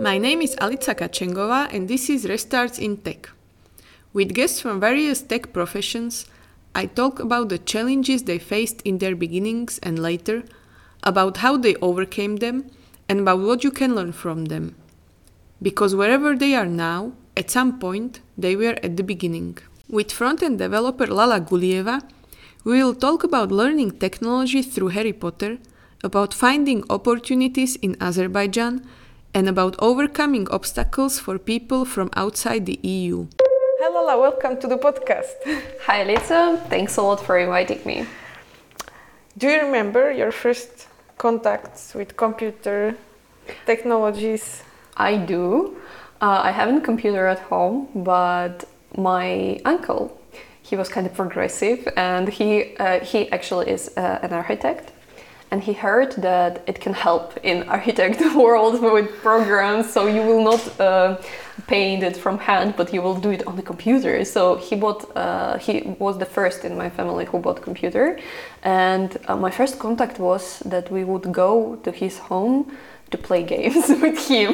My name is Alica Kačengová and this is Restarts in Tech. With guests from various tech professions, I talk about the challenges they faced in their beginnings and later, about how they overcame them, and about what you can learn from them. Because wherever they are now, at some point, they were at the beginning. With front-end developer Lala Gulieva, we will talk about learning technology through Harry Potter, about finding opportunities in Azerbaijan, and about overcoming obstacles for people from outside the EU. Hi Lala, welcome to the podcast. Hi Lisa, thanks a lot for inviting me. Do you remember your first contacts with computer technologies? I do. I have a computer at home, but my uncle, he was kind of progressive, and he actually is an architect. And he heard that it can help in architect world with programs, so you will not paint it from hand, but you will do it on the computer. So he was the first in my family who bought computer, and my first contact was that we would go to his home to play games with him.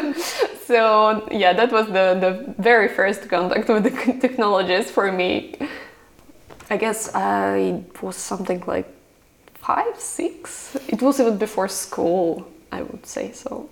So yeah, that was the very first contact with the technologies for me. I guess I was something like 5, 6. It was even before school, I would say so.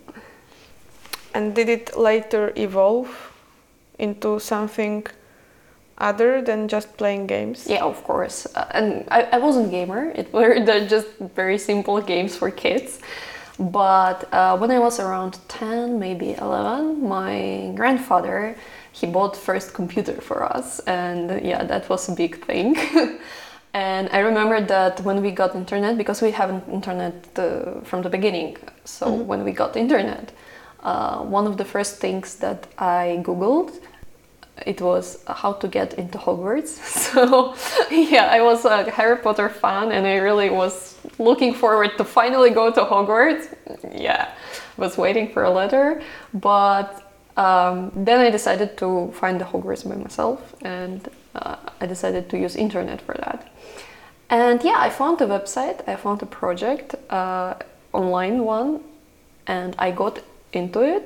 And did it later evolve into something other than just playing games? Yeah, of course. And I wasn't a gamer. It were just very simple games for kids. But when I was around 10, maybe 11, my grandfather, he bought first computer for us. And yeah, that was a big thing. And I remember that when we got internet, because we haven't internet from the beginning, so when we got internet, one of the first things that I Googled, it was how to get into Hogwarts. So yeah, I was a Harry Potter fan and I really was looking forward to finally go to Hogwarts. Yeah, was waiting for a letter, but then I decided to find the Hogwarts by myself, and I decided to use internet for that. And yeah, I found a website, I found a project, online one, and I got into it.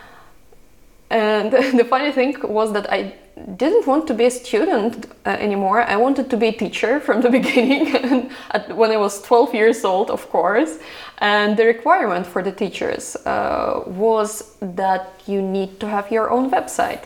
And the funny thing was that I didn't want to be a student anymore. I wanted to be a teacher from the beginning, when I was 12 years old, of course. And the requirement for the teachers was that you need to have your own website.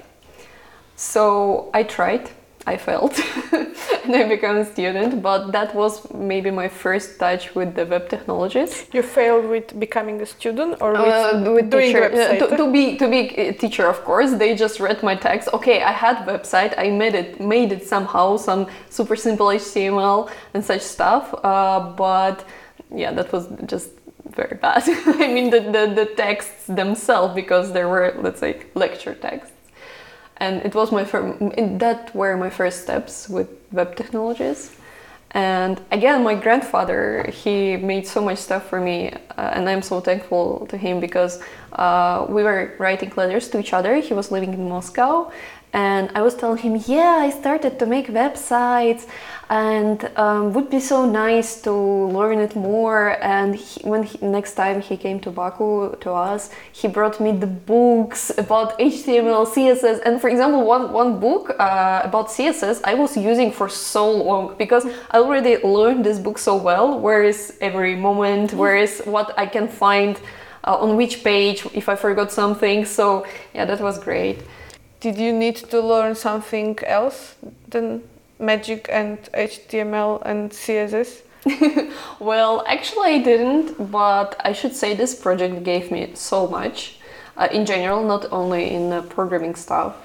So I tried. I failed and I became a student, but that was maybe my first touch with the web technologies. You failed with becoming a student or with doing teacher, website? To be a teacher, of course. They just read my text. Okay, I had website. I made it somehow, some super simple HTML and such stuff. But yeah, that was just very bad. I mean, the texts themselves, because there were, let's say, lecture texts. And it was that were my first steps with web technologies. And again, my grandfather, he made so much stuff for me, and I'm so thankful to him, because we were writing letters to each other. He was living in Moscow, and I was telling him, yeah, I started to make websites, and would be so nice to learn it more. And next time he came to Baku to us, he brought me the books about HTML, CSS, and for example, one book about CSS I was using for so long, because I already learned this book so well. Where is every moment? Where is what I can find on which page if I forgot something? So yeah, that was great. Did you need to learn something else than Magic and HTML and CSS? Well, actually I didn't, but I should say this project gave me so much. In general, not only in programming stuff.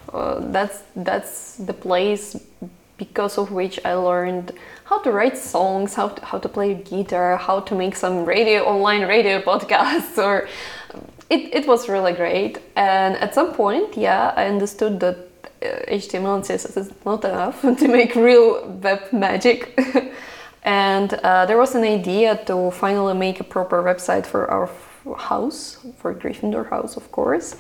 That's the place because of which I learned how to write songs, how to play guitar, how to make some online radio podcasts, or it was really great. And at some point, yeah, I understood that HTML and CSS is not enough to make real web magic. And there was an idea to finally make a proper website for our house, for Gryffindor house, of course.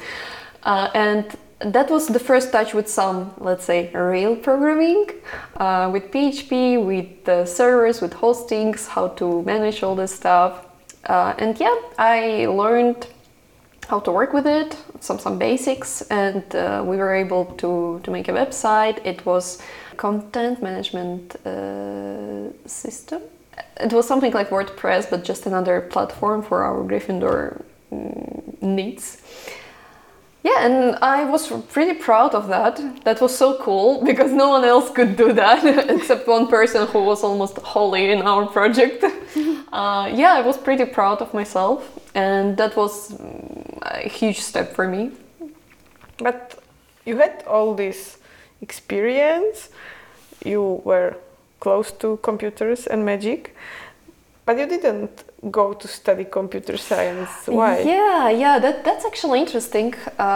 And that was the first touch with some, let's say, real programming, with PHP, with the servers, with hostings, how to manage all this stuff. And yeah, I learned how to work with it, some basics, and we were able to make a website. It was content management system. It was something like WordPress, but just another platform for our Gryffindor needs. Yeah, and I was pretty proud of that. That was so cool because no one else could do that except one person who was almost holy in our project. Yeah, I was pretty proud of myself, and that was a huge step for me. But you had all this experience, you were close to computers and magic, but you didn't go to study computer science. Why? Yeah, that's actually interesting.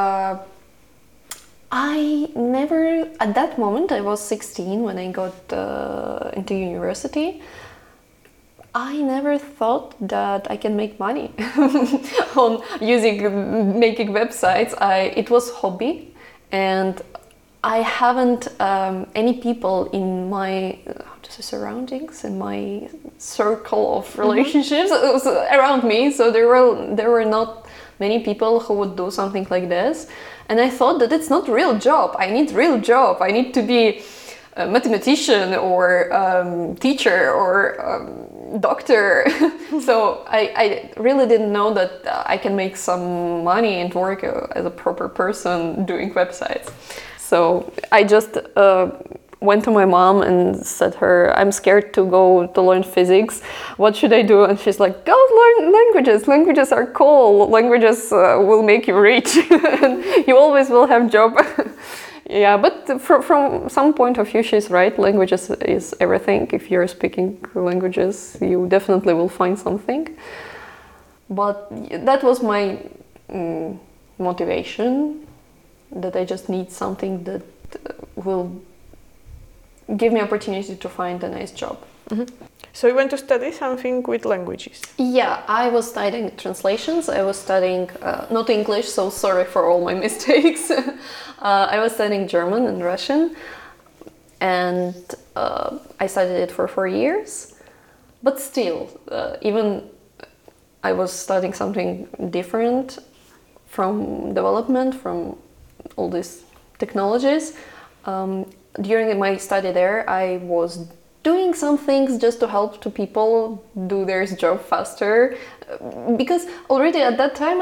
I never, at that moment, I was 16 when I got into university. I never thought that I can make money on making websites. It was hobby, and I haven't any people in my surroundings, in my circle of relationships around me. So there were not many people who would do something like this, and I thought that it's not real job. I need real job. I need to be a mathematician or teacher or doctor. So I really didn't know that I can make some money and work as a proper person doing websites. So I just went to my mom and said her, I'm scared to go to learn physics. What should I do? And she's like, go learn languages. Languages are cool. Languages will make you rich. And you always will have job. Yeah, but from some point of view, she's right. Languages is everything. If you're speaking languages, you definitely will find something. But that was my motivation, that I just need something that will give me opportunity to find a nice job. Mm-hmm. So you went to study something with languages? Yeah, I was studying translations. I was studying, not English, so sorry for all my mistakes. I was studying German and Russian, and I studied it for 4 years. But still, even I was studying something different from development, from all these technologies. During my study there, I was doing some things just to help to people do their job faster, because already at that time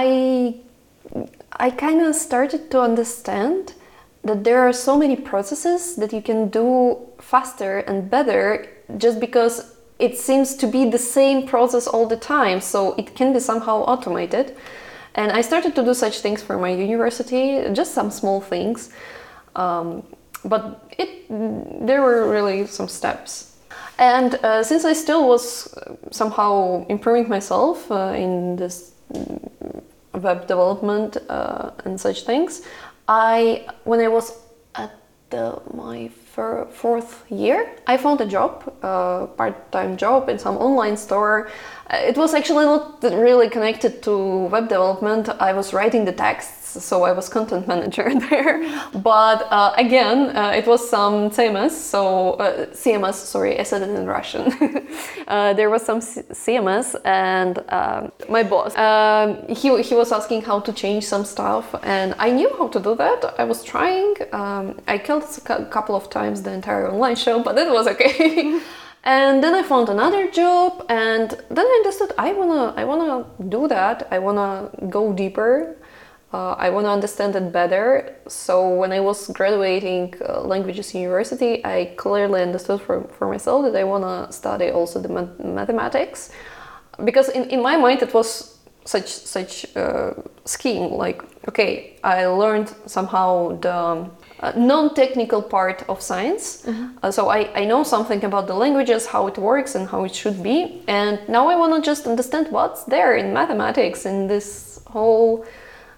I kind of started to understand that there are so many processes that you can do faster and better just because it seems to be the same process all the time, so it can be somehow automated. And I started to do such things for my university, just some small things. But there were really some steps. And since I still was somehow improving myself in this web development and such things, when I was at my fourth year, I found a job, part-time job in some online store. It was actually not really connected to web development. I was writing the texts, so I was content manager there. But again, it was some CMS, CMS, sorry, I said it in Russian. There was some CMS, and my boss, he was asking how to change some stuff, and I knew how to do that. I was trying. I killed a couple of times the entire online show, but it was okay. And then I found another job, and then I understood I wanna do that. I wanna go deeper. I wanna understand it better. So when I was graduating languages university, I clearly understood for myself that I wanna study also the mathematics, because in my mind it was such scheme. Like, okay, I learned somehow the non-technical part of science. Mm-hmm. So I know something about the languages, how it works and how it should be. And now I want to just understand what's there in mathematics, in this whole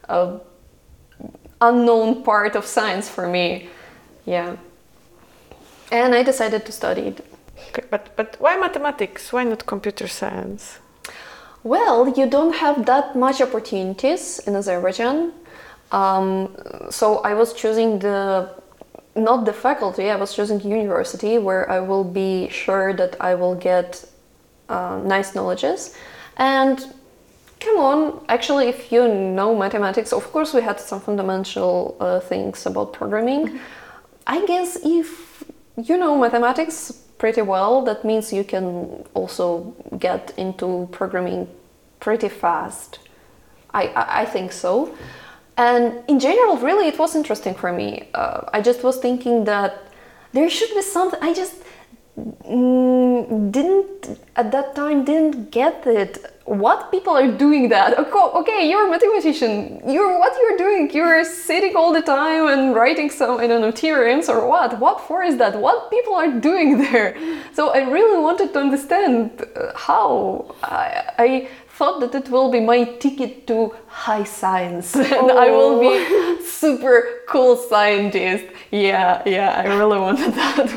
unknown part of science for me. Yeah. And I decided to study it. Okay, but why mathematics? Why not computer science? Well, you don't have that much opportunities in Azerbaijan. So I was choosing not the faculty, I was choosing university where I will be sure that I will get nice knowledges. And Come on, actually, if you know mathematics, of course we had some fundamental things about programming. I guess if you know mathematics pretty well, that means you can also get into programming pretty fast. I think so. And in general, really, it was interesting for me. I just was thinking that there should be something. I just didn't at that time didn't get it. What people are doing that? Okay, you're a mathematician. What you're doing? You're sitting all the time and writing some, I don't know, theorems or what? What for is that? What people are doing there? So I really wanted to understand how. I thought that it will be my ticket to high science and I will be super cool scientist. Yeah, I really wanted that,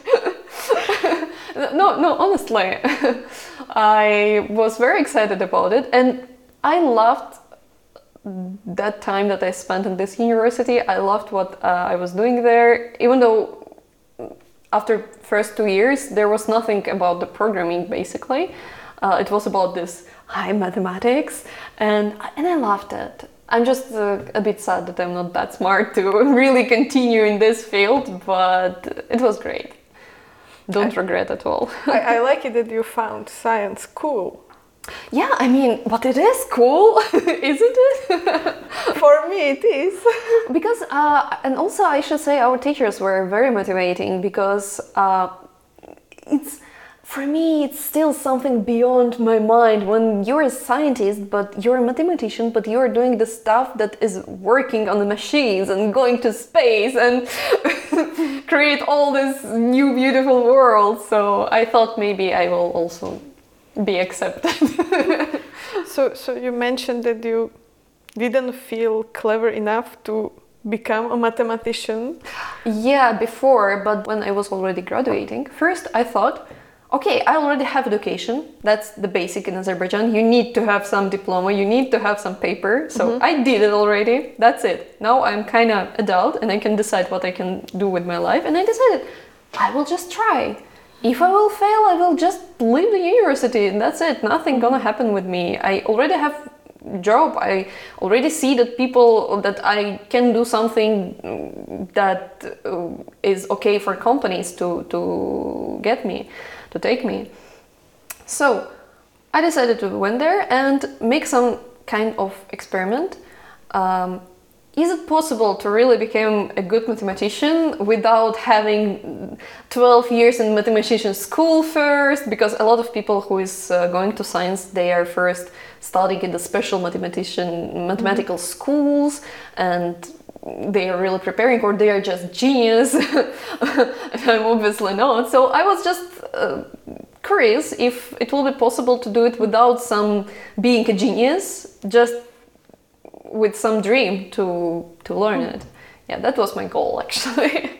but no, honestly, I was very excited about it and I loved that time that I spent in this university. I loved what I was doing there, even though after first 2 years there was nothing about the programming basically. It was about this high mathematics and I loved it. I'm just a bit sad that I'm not that smart to really continue in this field, but it was great. Don't regret at all. I like it that you found science cool. Yeah, I mean, but it is cool, isn't it? For me it is. Because, and also I should say our teachers were very motivating because for me, it's still something beyond my mind when you're a scientist, but you're a mathematician, but you're doing the stuff that is working on the machines and going to space and create all this new beautiful world. So I thought maybe I will also be accepted. So you mentioned that you didn't feel clever enough to become a mathematician. Yeah, before, but when I was already graduating, first I thought, okay, I already have education. That's the basic in Azerbaijan. You need to have some diploma, you need to have some paper. So I did it already. That's it. Now I'm kind of adult and I can decide what I can do with my life. And I decided I will just try. If I will fail, I will just leave the university and that's it. Nothing gonna happen with me. I already have job. I already see that that I can do something that is okay for companies to get me, to take me. So I decided to went there and make some kind of experiment. Is it possible to really become a good mathematician without having 12 years in mathematician school first? Because a lot of people who is going to science, they are first studying in the special mathematical schools and they are really preparing, or they are just genius. I'm obviously not. So I was just curious if it will be possible to do it without being a genius, just with some dream to learn it. Yeah, that was my goal actually.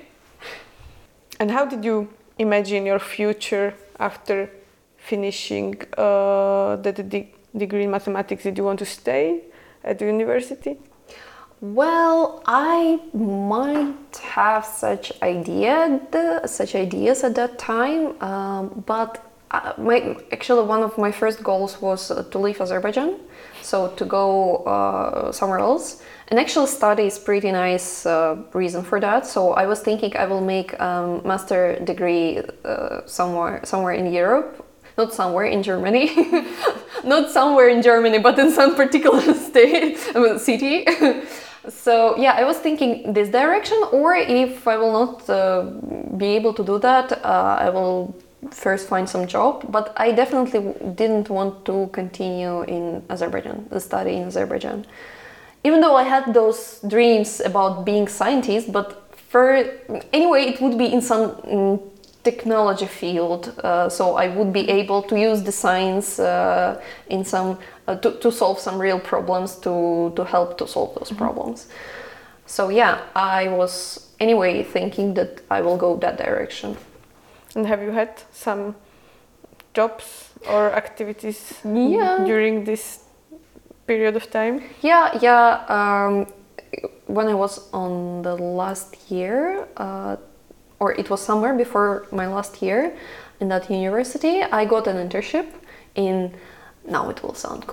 And how did you imagine your future after finishing degree in mathematics? Did you want to stay at the university? Well, I might have such ideas at that time, but actually one of my first goals was to leave Azerbaijan, so to go somewhere else. And actually study is pretty nice reason for that. So I was thinking I will make a master degree somewhere in Europe. Not somewhere in Germany, not somewhere in Germany, but in some particular city. So yeah, I was thinking this direction, or if I will not be able to do that, I will first find some job. But I definitely didn't want to continue in Azerbaijan, the study in Azerbaijan. Even though I had those dreams about being scientist, but anyway, it would be in some technology field, so I would be able to use the science in some to solve some real problems, to help to solve those problems. So yeah, I was anyway thinking that I will go that direction. And have you had some jobs or activities during this period of time? Yeah. When I was on the last year, or it was somewhere before my last year in that university, I got an internship in, now it will sound cool,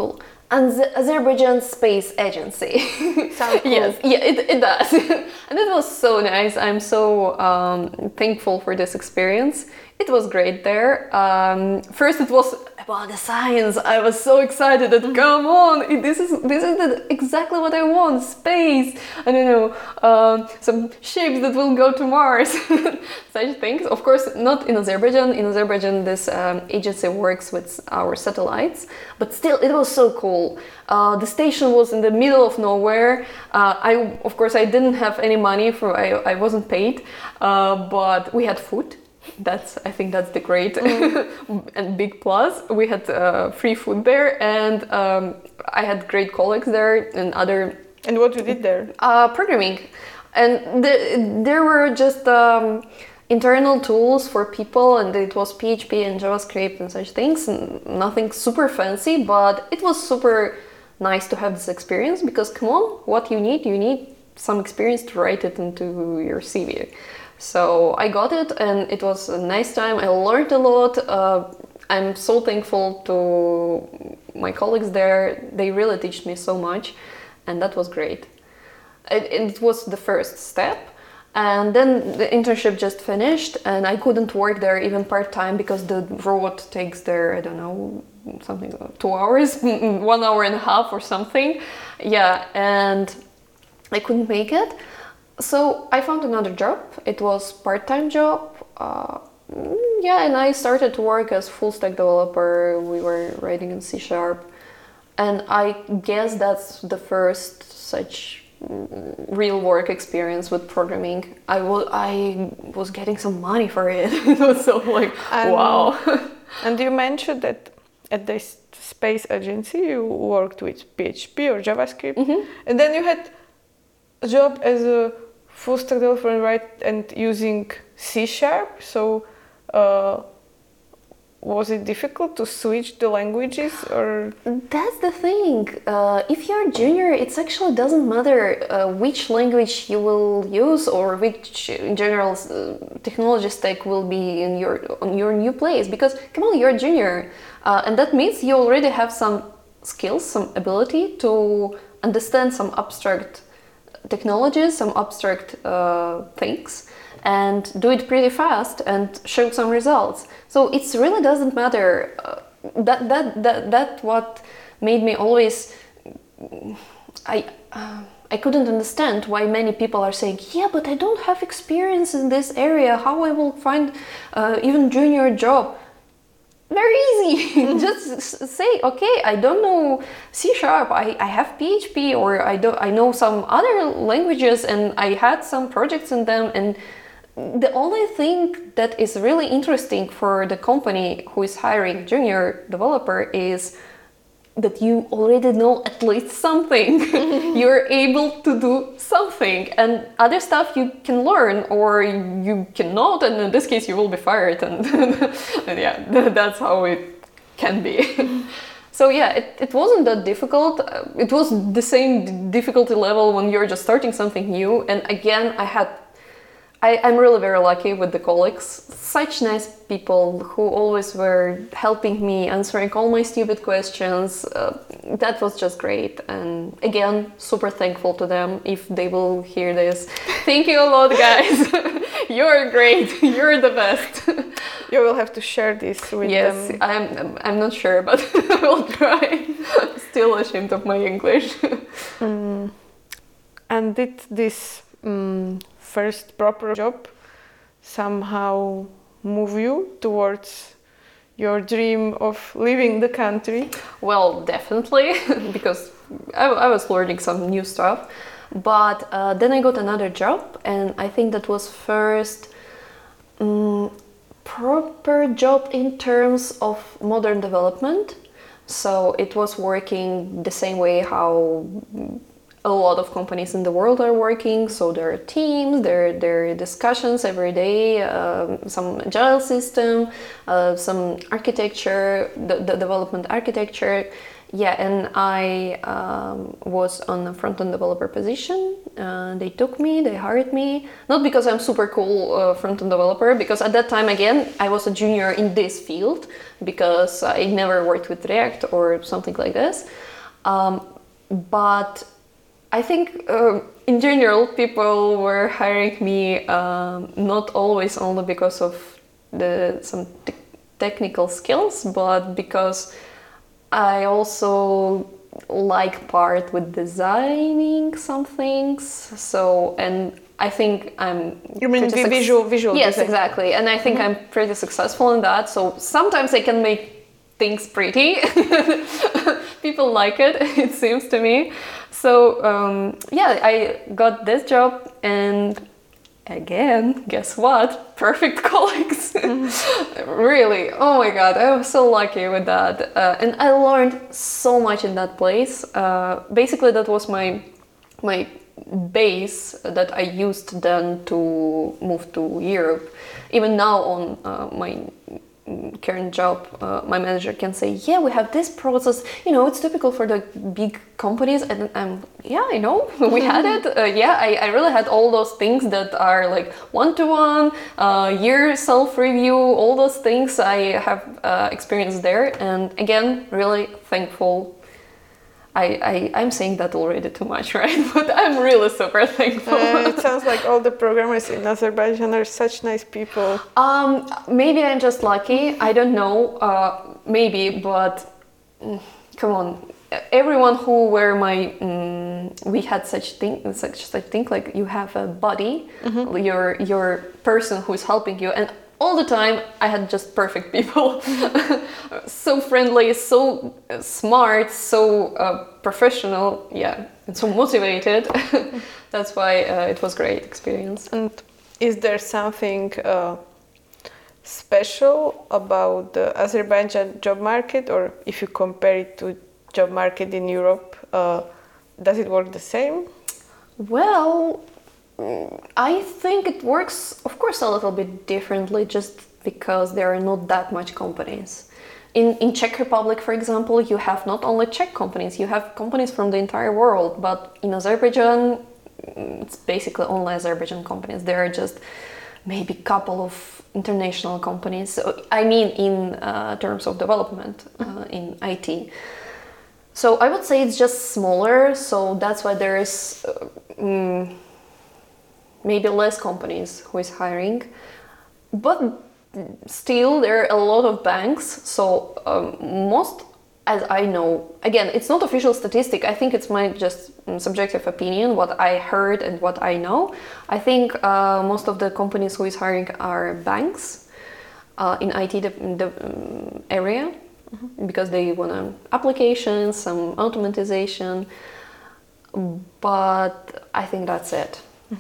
And the Azerbaijan Space Agency. Sounds cool. Yes, yeah, it does. And it was so nice. I'm so thankful for this experience. It was great there. First, it was about the science. I was so excited that come on, this is exactly what I want. Space. I don't know, some ships that will go to Mars. Such things. Of course, not in Azerbaijan. In Azerbaijan, this agency works with our satellites, but still, it was so cool. The station was in the middle of nowhere. Of course, I didn't have any money for. I wasn't paid, but we had food. I think that's the great and big plus. We had free food there, and I had great colleagues there and other. And what you did there? Programming, and there were just internal tools for people, and it was PHP and JavaScript and such things. Nothing super fancy, but it was super nice to have this experience because come on, what you need some experience to write it into your CV. So I got it, and it was a nice time. I learned a lot. I'm so thankful to my colleagues there. They really taught me so much, and that was great. It was the first step, and then the internship just finished, and I couldn't work there even part-time because the road takes there, I don't know, something like 2 hours, 1 hour and a half or something. Yeah, and I couldn't make it. So I found another job. It was part-time job. And I started to work as full-stack developer. We were writing in C#, and I guess that's the first such real work experience with programming. I was getting some money for it. It was so like wow. And you mentioned that at this space agency you worked with PHP or JavaScript, and then you had a job as a full stack developer and using C#. So was it difficult to switch the languages, or? That's the thing. If you're junior, it actually doesn't matter which language you will use or which general technology stack will be on your new place. Because come on, you're a junior, and that means you already have some skills, some ability to understand some abstract technologies, some abstract things, and do it pretty fast and show some results. So it really doesn't matter. That what made me always. I couldn't understand why many people are saying, yeah, but I don't have experience in this area. How I will find even junior job? Very easy. Just say, okay, I don't know C#, I have PHP, or I know some other languages, and I had some projects in them. And the only thing that is really interesting for the company who is hiring junior developer is that you already know at least something. You're able to do something, and other stuff you can learn or you cannot, and in this case you will be fired, and yeah, that's how it can be. So yeah, it wasn't that difficult. It was the same difficulty level when you're just starting something new. And again, I'm really very lucky with the colleagues, such nice people who always were helping me, answering all my stupid questions. That was just great. And again, super thankful to them if they will hear this. Thank you a lot, guys. You're great. You're the best. You will have to share this with them. Yes, I'm not sure, but I will try. Still ashamed of my English. And did this first proper job somehow move you towards your dream of leaving the country? Well, definitely, because I was learning some new stuff. But then I got another job, and I think that was first proper job in terms of modern development. So it was working the same way how a lot of companies in the world are working. So there are teams, there are discussions every day, some agile system, some architecture, the development architecture. Yeah, and I was on a front-end developer position. They took me, they hired me. Not because I'm super cool front-end developer, because at that time, again, I was a junior in this field, because I never worked with React or something like this. But I think in general people were hiring me not always only because of some technical skills, but because I also like part with designing some things. So, and I think I'm... You mean pretty visual Yes, design. exactly. And I think I'm pretty successful in that. So sometimes I can make things pretty. People like it, it seems to me. So yeah, I got this job, and again, guess what? Perfect colleagues. Really, oh my god, I was so lucky with that. And I learned so much in that place. Basically, that was my base that I used then to move to Europe. Even now on my current job, my manager can say, yeah, we have this process, you know, it's typical for the big companies, and yeah, I know, we had it. Yeah, I really had all those things that are like one-to-one, year self-review, all those things I have experienced there. And again, really thankful. I'm saying that already too much, right? But I'm really super thankful. It sounds like all the programmers in Azerbaijan are such nice people. Maybe I'm just lucky. I don't know. Maybe, but come on. Everyone who were we had such thing like you have a buddy, your person who is helping you, and all the time I had just perfect people. So friendly, so smart, so professional, yeah, and so motivated. That's why it was a great experience. And is there something special about the Azerbaijan job market, or if you compare it to job market in Europe, does it work the same? Well, I think it works, of course, a little bit differently, just because there are not that much companies. In Czech Republic, for example, you have not only Czech companies, you have companies from the entire world, but in Azerbaijan, it's basically only Azerbaijan companies. There are just maybe a couple of international companies. So, I mean, in terms of development, in IT. So I would say it's just smaller, so that's why there is maybe less companies who is hiring. But still, there are a lot of banks, so most, as I know, again, it's not official statistic, I think it's my just subjective opinion, what I heard and what I know. I think most of the companies who is hiring are banks in IT area, because they want applications, some automatization, but I think that's it.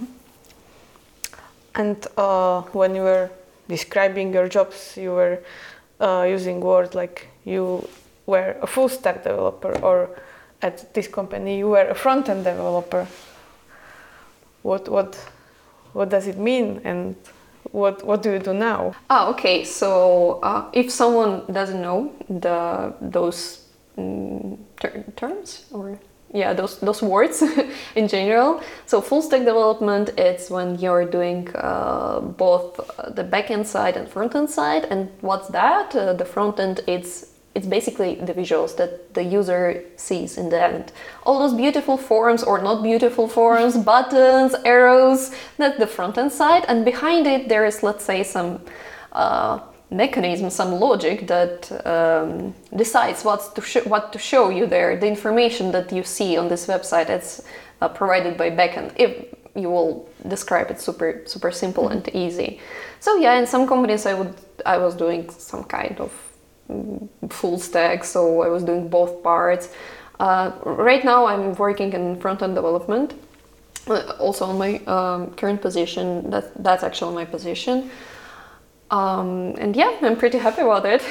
And when you were describing your jobs, you were using words like you were a full stack developer, or at this company you were a front-end developer. What does it mean, and what do you do now? Okay, so if someone doesn't know those terms, or yeah, those words in general. So full stack development, it's when you're doing both the back-end side and front-end side. And what's that? The front-end, it's basically the visuals that the user sees in the end. All those beautiful forms or not beautiful forms, buttons, arrows, that's the front-end side. And behind it, there is, let's say, some mechanism, some logic that decides what to show you there, the information that you see on this website. It's provided by backend. If you will describe it super simple and easy. So yeah, in some companies I was doing some kind of full stack, so I was doing both parts. Right now I'm working in front-end development, also on my current position. That's actually my position. And yeah, I'm pretty happy about it.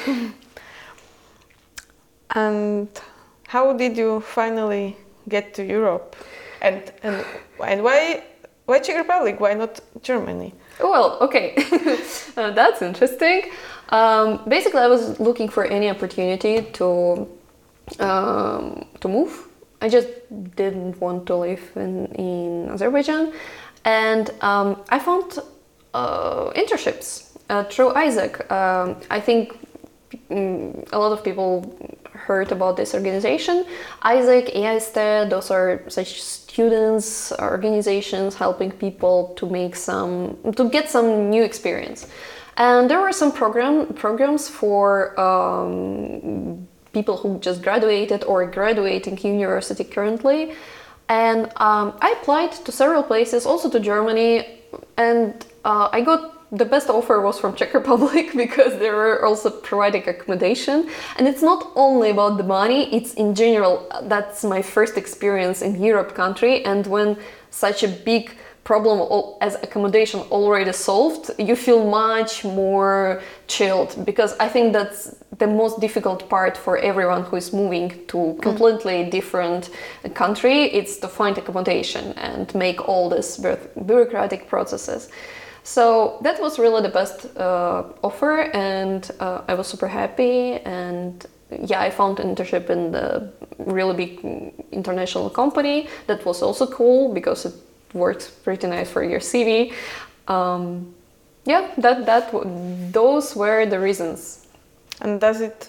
And how did you finally get to Europe? And why Czech Republic? Why not Germany? Well, okay, that's interesting. Basically, I was looking for any opportunity to move. I just didn't want to live in Azerbaijan, and I found internships through Isaac. I think a lot of people heard about this organization. Isaac, AISTED, those are such students organizations helping people to get some new experience. And there were some programs for people who just graduated or graduating university currently. And I applied to several places, also to Germany, and I got the best offer was from Czech Republic because they were also providing accommodation. And it's not only about the money, it's in general, that's my first experience in Europe country. And when such a big problem as accommodation already solved, you feel much more chilled, because I think that's the most difficult part for everyone who is moving to completely different country. It's to find accommodation and make all these bureaucratic processes. So that was really the best offer, and I was super happy. And yeah, I found an internship in the really big international company. That was also cool because it works pretty nice for your CV. Yeah, those were the reasons. And does it,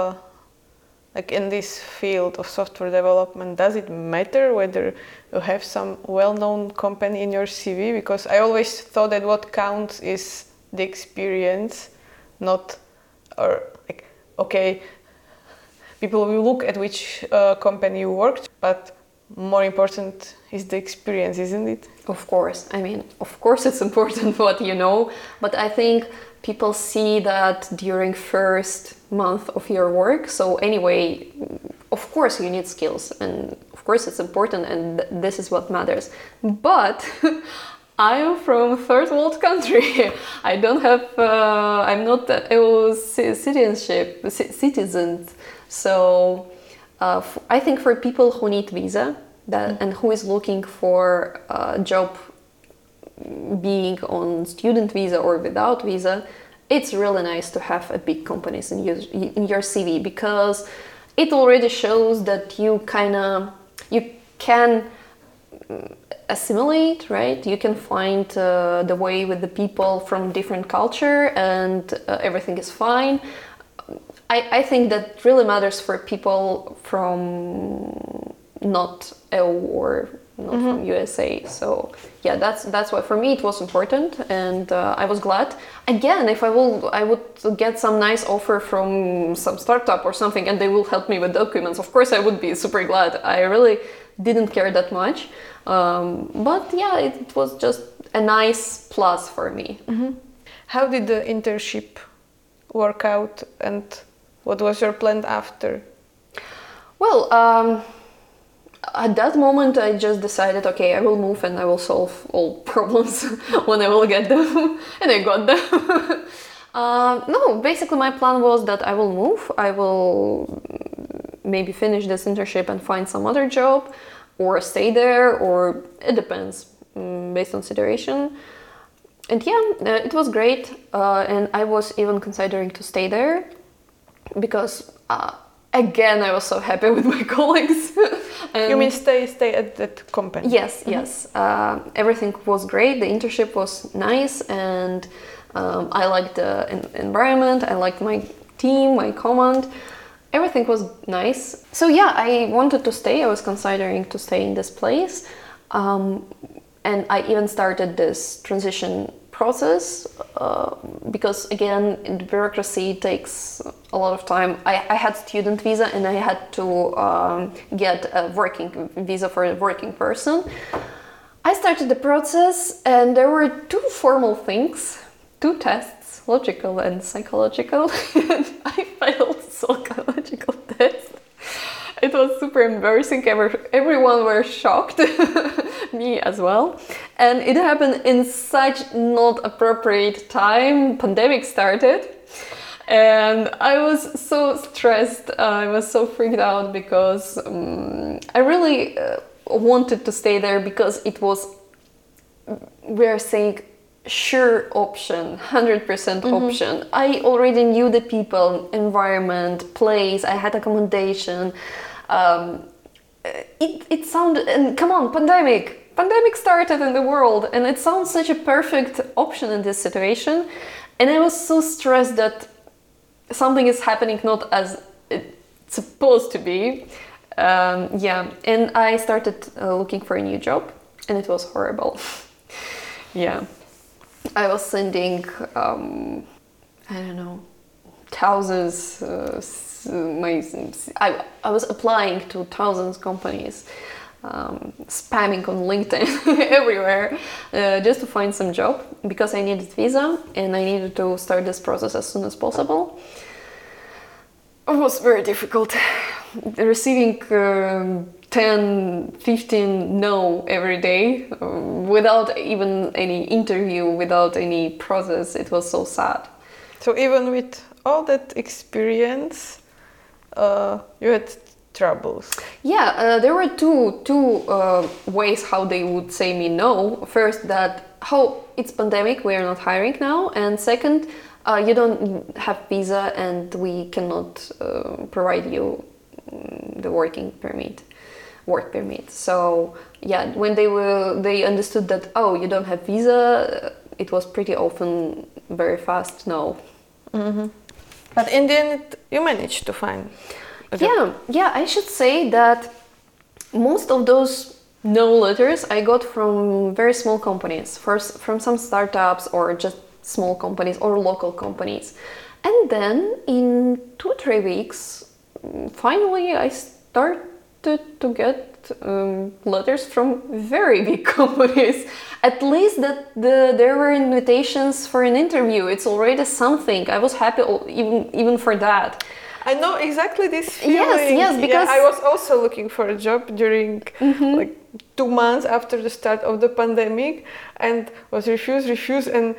like in this field of software development, does it matter whether you have some well-known company in your CV? Because I always thought that what counts is the experience, not, or like, okay, people will look at which company you worked, but more important is the experience, isn't it? Of course. I mean, of course it's important what you know, but I think people see that during first month of your work. So anyway, of course you need skills, and of course it's important, and this is what matters. But I am from third world country. I don't have, I'm not EU citizen. So I think for people who need visa and who is looking for a job being on student visa or without visa, it's really nice to have a big companies in your CV, because it already shows that you can assimilate, right? You can find the way with the people from different culture, and everything is fine. I think that really matters for people from not EU or not from USA. So yeah, that's why for me it was important, and I was glad. Again, if I would get some nice offer from some startup or something, and they will help me with documents, of course I would be super glad. I really didn't care that much, but yeah, it was just a nice plus for me. How did the internship work out, and what was your plan after? Well, at that moment I just decided, okay, I will move and I will solve all problems when I will get them, and I got them. No, basically my plan was that I will move, I will maybe finish this internship and find some other job, or stay there, or it depends, based on situation. And yeah, it was great, and I was even considering to stay there, because again, I was so happy with my colleagues. You mean stay at that company? Yes, yes. Everything was great. The internship was nice, and I liked the environment. I liked my team, my command. Everything was nice. So yeah, I wanted to stay. I was considering to stay in this place. And I even started this transition process because again, the bureaucracy takes a lot of time. I had student visa, and I had to get a working visa for a working person. I started the process, and there were two formal things, two tests, logical and psychological. And I failed psychological test. It was super embarrassing. Everyone were shocked, me as well. And it happened in such not appropriate time. Pandemic started. And I was so stressed. I was so freaked out because I really wanted to stay there, because it was, we're saying, sure option, 100% option. I already knew the people, environment, place, I had accommodation. It sounded, and come on, pandemic started in the world, and it sounds such a perfect option in this situation. And I was so stressed that something is happening not as it supposed to be. Yeah, and I started looking for a new job, and it was horrible. Yeah, I was sending, I don't know, thousands. I was applying to thousands companies, spamming on LinkedIn everywhere, just to find some job because I needed visa and I needed to start this process as soon as possible. It was very difficult. Receiving 10, 15 no every day without even any interview, without any process. It was so sad. So even with all that experience, you had troubles. Yeah, there were two ways how they would say me no. First, that how it's pandemic, we are not hiring now, and second, you don't have visa and we cannot provide you the work permit. So yeah, when they understood that, oh, you don't have visa, it was pretty often very fast no. Mm-hmm. But in the end, you managed to find a job. Yeah, I should say that most of those no letters I got from very small companies, first from some startups or just small companies or local companies. And then in 2-3 weeks, finally I started to get letters from very big companies. At least that there were invitations for an interview. It's already something. I was happy even for that. I know exactly this feeling. Yes, because I was also looking for a job during like 2 months after the start of the pandemic, and was refused, and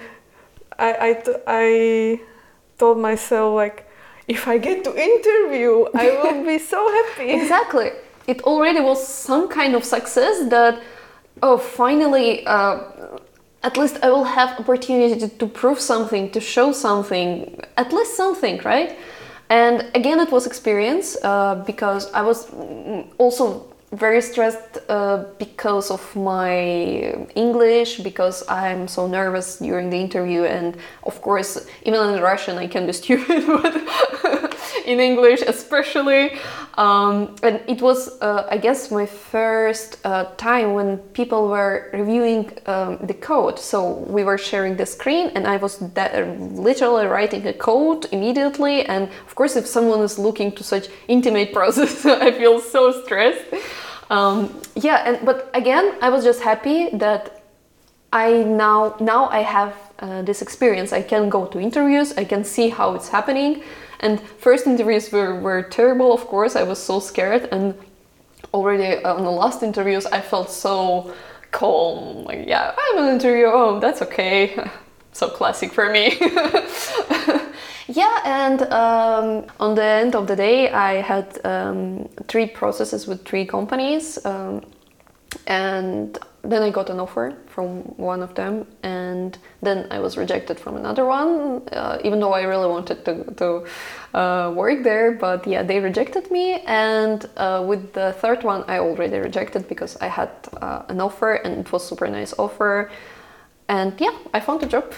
I told myself, like, if I get to interview, I will be so happy. Exactly. It already was some kind of success that, oh, finally, at least I will have opportunity to prove something, to show something, at least something, right? And again, it was experience because I was also very stressed because of my English, because I'm so nervous during the interview, and of course, even in Russian I can be stupid, but in English especially. And it was, I guess, my first time when people were reviewing the code. So we were sharing the screen, and I was literally writing a code immediately. And of course, if someone is looking to such intimate process, I feel so stressed. But again, I was just happy that I now I have this experience. I can go to interviews, I can see how it's happening. And first interviews were terrible, of course. I was so scared, and already on the last interviews I felt so calm. Like, yeah, I'm an interview, oh, that's okay. So classic for me. Yeah, and on the end of the day I had 3 processes with 3 companies, and then I got an offer from one of them, and then I was rejected from another one, even though I really wanted to work there, but yeah, they rejected me. And with the third one I already rejected because I had an offer, and it was super nice offer, and yeah, I found a job.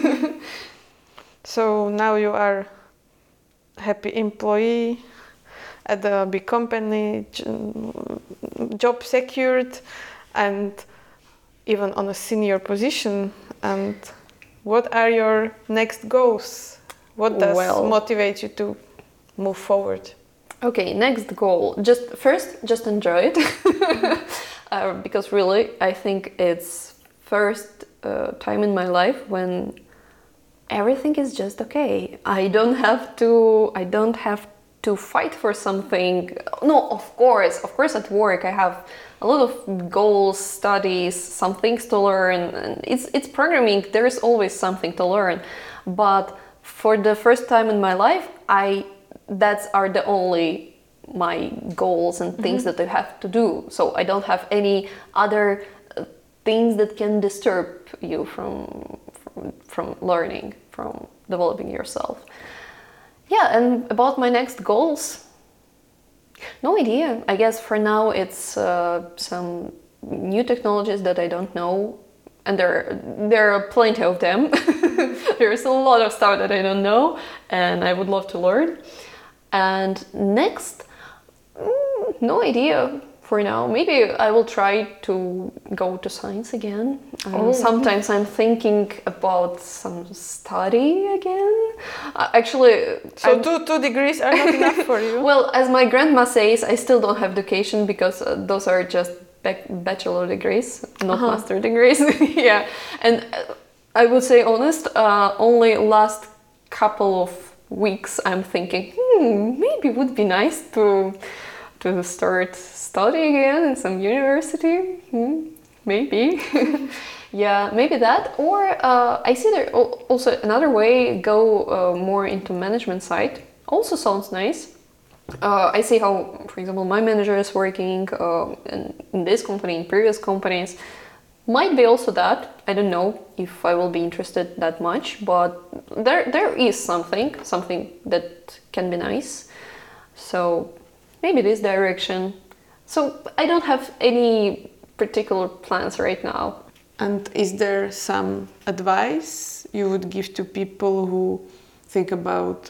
So now you are happy employee at a big company, job secured, and even on a senior position. And what are your next goals? What does motivate you to move forward? Okay, next goal. Just enjoy it. Because really, I think it's first time in my life when everything is just okay. I don't have to fight for something. No, of course at work I have a lot of goals, studies, some things to learn, and it's programming. There is always something to learn. But for the first time in my life, that's are the only my goals and things that I have to do. So I don't have any other things that can disturb you from learning, from developing yourself. Yeah, and about my next goals, no idea. I guess for now it's some new technologies that I don't know, and there are plenty of them. There's a lot of stuff that I don't know, and I would love to learn. And next, no idea for now. Maybe I will try to go to science again. Sometimes I'm thinking about some study again. Actually, So 2 degrees are not enough for you? well, as my grandma says, I still don't have education because those are just bachelor degrees, not master degrees. Yeah, and I would say honest, only last couple of weeks I'm thinking, maybe it would be nice to start studying again in some university. Maybe. Yeah, maybe that. Or I see there also another way, go more into management side. Also sounds nice. I see how, for example, my manager is working in this company, in previous companies. Might be also that. I don't know if I will be interested that much, but there is something that can be nice. So maybe this direction. So I don't have any particular plans right now. And is there some advice you would give to people who think about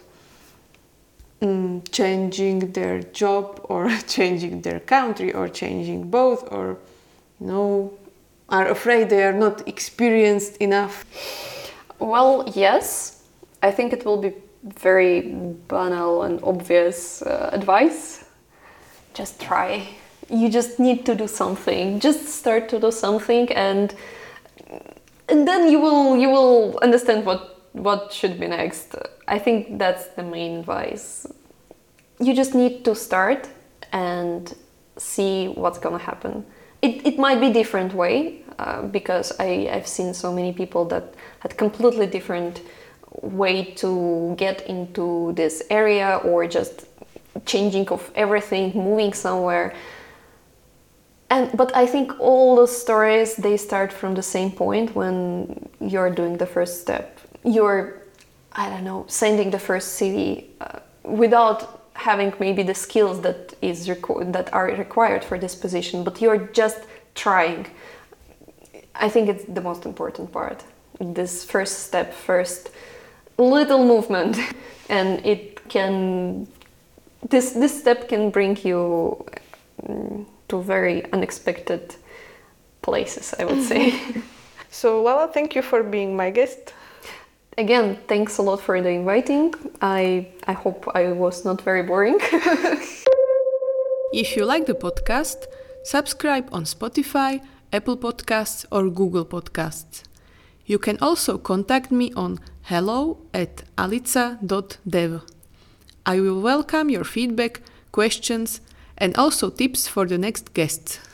changing their job or changing their country or changing both, or are afraid they are not experienced enough? Well, yes. I think it will be very banal and obvious advice. Just try. You just need to do something. Just start to do something, and then you will understand what should be next. I think that's the main advice. You just need to start and see what's gonna happen. It might be different way because I've seen so many people that had completely different way to get into this area, or just changing of everything, moving somewhere. But I think all the stories, they start from the same point when you're doing the first step. You're, I don't know, sending the first CV without having maybe the skills that are required for this position, but you're just trying. I think it's the most important part. This first step, first little movement, and this step can bring you to very unexpected places, I would say. So Lala, thank you for being my guest. Again, thanks a lot for the inviting. I hope I was not very boring. If you like the podcast, subscribe on Spotify, Apple Podcasts or Google Podcasts. You can also contact me on hello@alica.dev. I will welcome your feedback, questions and also tips for the next guests.